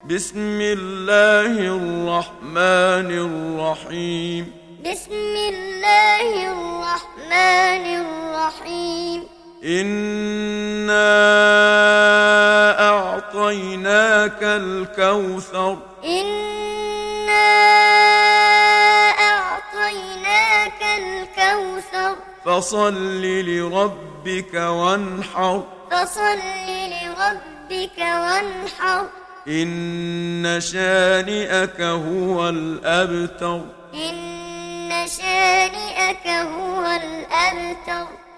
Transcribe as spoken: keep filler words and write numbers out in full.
بسم الله الرحمن الرحيم بسم الله الرحمن الرحيم إنا أعطيناك الكوثر إنا أعطيناك الكوثر فصل لربك وانحر فصل لربك وانحر إن شانئك هو الأبتر إن شانئك هو الأبتر